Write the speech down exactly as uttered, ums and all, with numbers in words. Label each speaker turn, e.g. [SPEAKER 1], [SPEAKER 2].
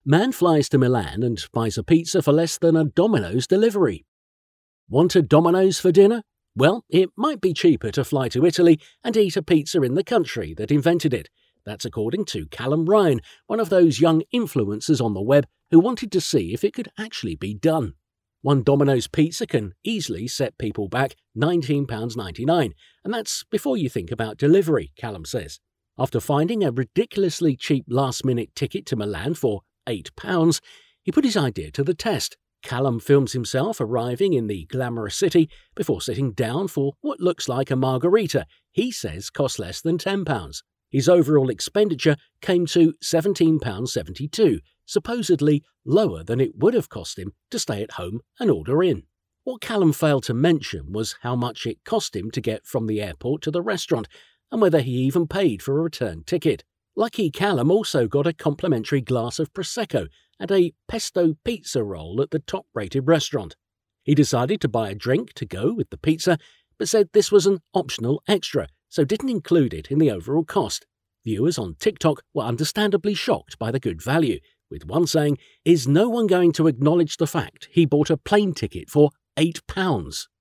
[SPEAKER 1] Man flies to Milan and buys a pizza for less than a Domino's delivery. Want a Domino's for dinner? Well, it might be cheaper to fly to Italy and eat a pizza in the country that invented it. That's according to Callum Ryan, one of those young influencers on the web who wanted to see if it could actually be done. One Domino's pizza can easily set people back nineteen pounds ninety-nine, and that's before you think about delivery, Callum says. After finding a ridiculously cheap last-minute ticket to Milan for eight pounds, he put his idea to the test. Callum films himself arriving in the glamorous city before sitting down for what looks like a margarita he says costs less than ten pounds. His overall expenditure came to seventeen pounds seventy-two, supposedly lower than it would have cost him to stay at home and order in. What Callum failed to mention was how much it cost him to get from the airport to the restaurant, and whether he even paid for a return ticket. Lucky Callum also got a complimentary glass of Prosecco and a pesto pizza roll at the top-rated restaurant. He decided to buy a drink to go with the pizza, but said this was an optional extra, so didn't include it in the overall cost. Viewers on TikTok were understandably shocked by the good value, with one saying, "Is no one going to acknowledge the fact he bought a plane ticket for eight pounds?"